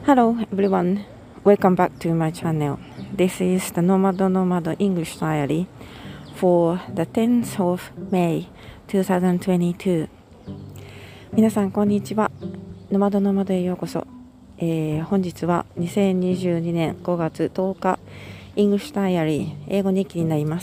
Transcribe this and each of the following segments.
Hello everyone, welcome back to my channel. This is the Nomad English Diary for the 10th of May 2022. 皆さんこんにちは。ノマドへようこそ。本日は2022年5月10日 English Diary 英語日記になります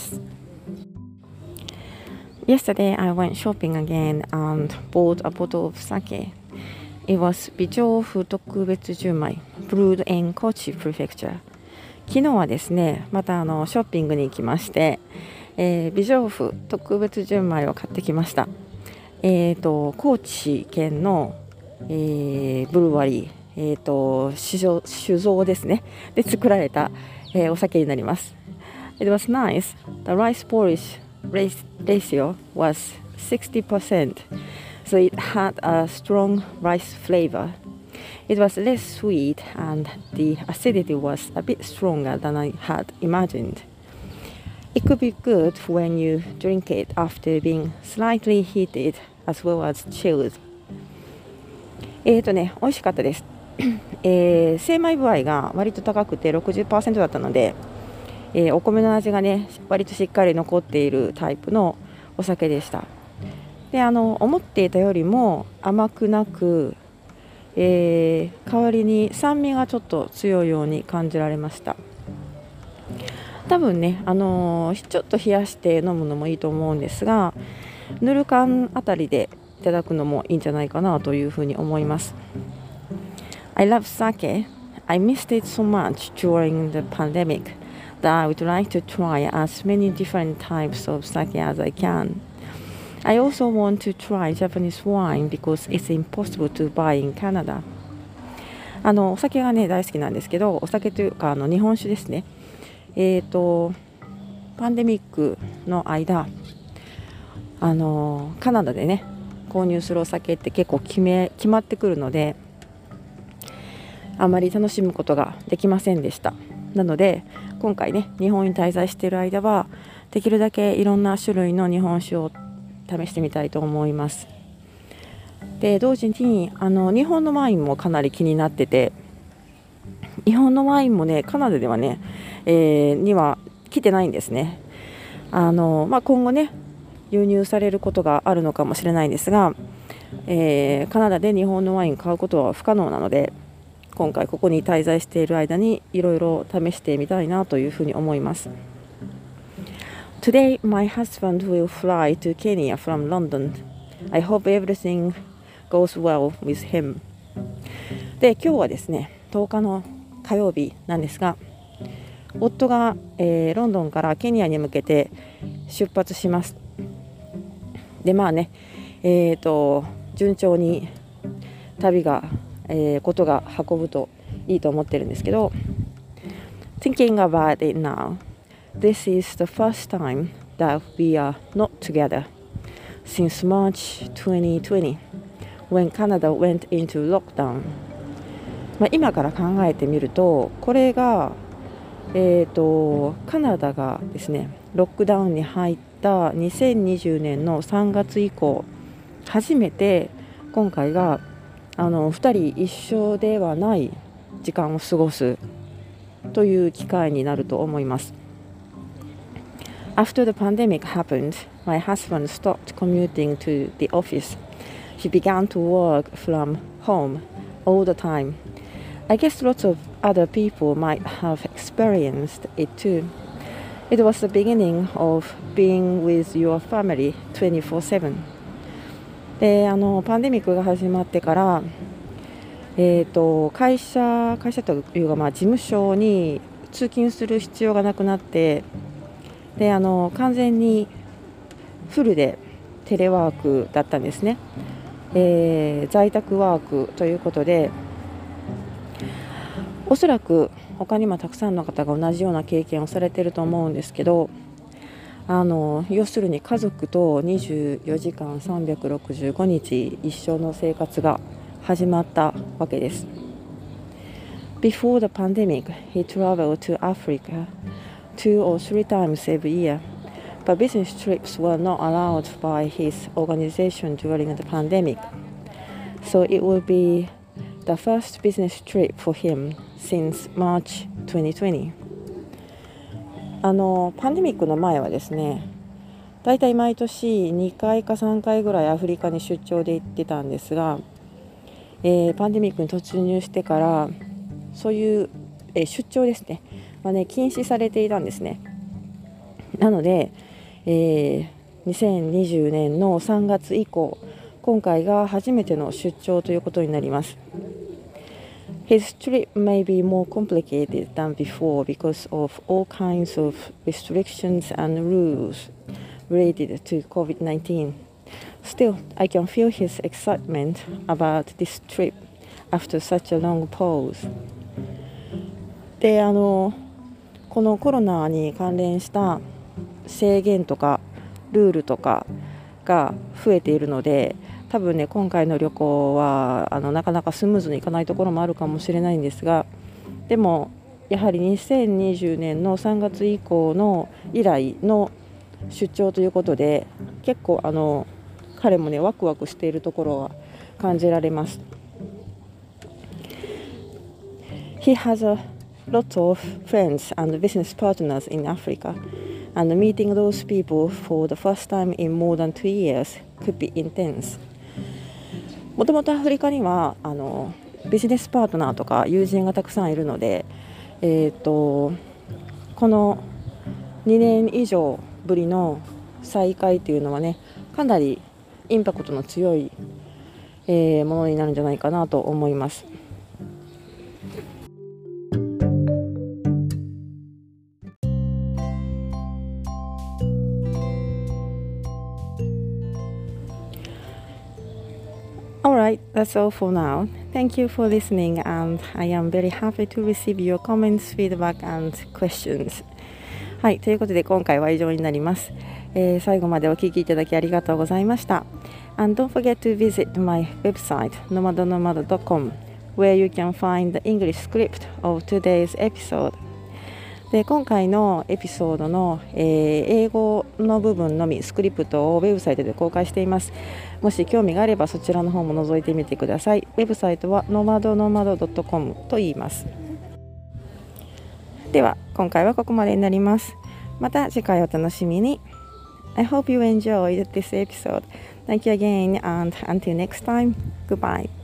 。Yesterday I went shopping again and bought a bottle of sake.It was 美丈夫特別純米 brewed in Kochi Prefecture。 昨日はですね、またショッピングに行きまして、美丈夫特別純米を買ってきました。高知県の、ブルワリー、酒造ですねで作られた、お酒になります。It was nice. The rice porridge ratio was 60%.So it had a strong rice flavor. It was less sweet and the acidity was a bit stronger than I had imagined. It could be good when you drink it after being slightly heated as well as chilled. 美味しかったです。精米部合が割と高くて 60% だったので、お米の味がね割としっかり残っているタイプのお酒でした。で思っていたよりも甘くなく、代わりに酸味がちょっと強いように感じられました。多分ね、ちょっと冷やして飲むのもいいと思うんですが、ぬる燗あたりでいただくのもいいんじゃないかなというふうに思います。I love sake. I missed it so much during the pandemic that I would like to try as many different types of sake as I can.I also want to try Japanese wine because it's impossible to buy in Canada. お酒がね大好きなんですけど、お酒というか日本酒ですね。パンデミックの間、カナダでね購入するお酒って結構決まってくるので、あまり楽しむことができませんでした。なので今回ね日本に滞在している間はできるだけいろんな種類の日本酒を試してみたいと思います。で同時に日本のワインもかなり気になってて、日本のワインもねカナダではね、には来てないんですね。今後ね輸入されることがあるのかもしれないんですが、カナダで日本のワイン買うことは不可能なので、今回ここに滞在している間にいろいろ試してみたいなというふうに思います。Today, my husband will fly to Kenya from London. I hope everything goes well with him. で、今日はですね、10日の火曜日なんですが、夫が、ロンドンからケニアに向けて出発します。で、順調に旅が、ことが運ぶといいと思ってるんですけど、Thinking about it now.This is the first time that we are not together since March 2020 when Canada went into lockdown. 今から考えてみると、これが、カナダがですね、ロックダウンに入った2020年の3月以降、初めて今回が2人一緒ではない時間を過ごすという機会になると思います。After the pandemic happened, my husband stopped commuting to the office. He began to work from home all the time. I guess lots of other people might have experienced it too. It was the beginning of being with your family 24/7. で、パンデミックが始まってから、会社というか、事務所に通勤する必要がなくなって、で完全にフルでテレワークだったんですね。在宅ワークということで、おそらく他にもたくさんの方が同じような経験をされていると思うんですけど、要するに家族と24時間365日一緒の生活が始まったわけです。Before the pandemic, he traveled to Africa2 or 3 times every year, but business trips were not allowed by his organization during the pandemic. So it would be the first business trip for him since March 2020. パンデミックの前はですね、だいたい毎年2回か3回ぐらいアフリカに出張で行ってたんですが、パンデミックに突入してからそういう、出張ですね、禁止されていたんですね。なので、2020年の3月以降、今回が初めての出張ということになります。His trip may be more complicated than before because of all kinds of restrictions and rules related to COVID-19. Still, I can feel his excitement about this trip after such a long pause. で、このコロナに関連した制限とかルールとかが増えているので、多分ね、今回の旅行はなかなかスムーズにいかないところもあるかもしれないんですが、でもやはり2020年の3月以降の以来の出張ということで、結構彼もねワクワクしているところは感じられます。He has a lot of friends and business partners in Africa, and meeting those people for the first time in more than 2 years could be intense. もともとアフリカにはビジネスパートナーとか友人がたくさんいるので、この2年以上ぶりの再会というのはね、かなりインパクトの強い、ものになるんじゃないかなと思います。Alright, that's all for now. Thank you for listening, and I am very happy to receive your comments, feedback and questions. はい、ということで今回は以上になります。最後までお聞きいただきありがとうございました。And don't forget to visit my website, nomadonomad.com, where you can find the English script of today's episode. で、今回のエピソードの、英語の部分のみスクリプトをウェブサイトで公開しています。もし興味があればそちらの方も覗いてみてください。ウェブサイトは nomadonomad.com と言います。では今回はここまでになります。また次回お楽しみに。I hope you enjoyed this episode. Thank you again, and until next time, goodbye.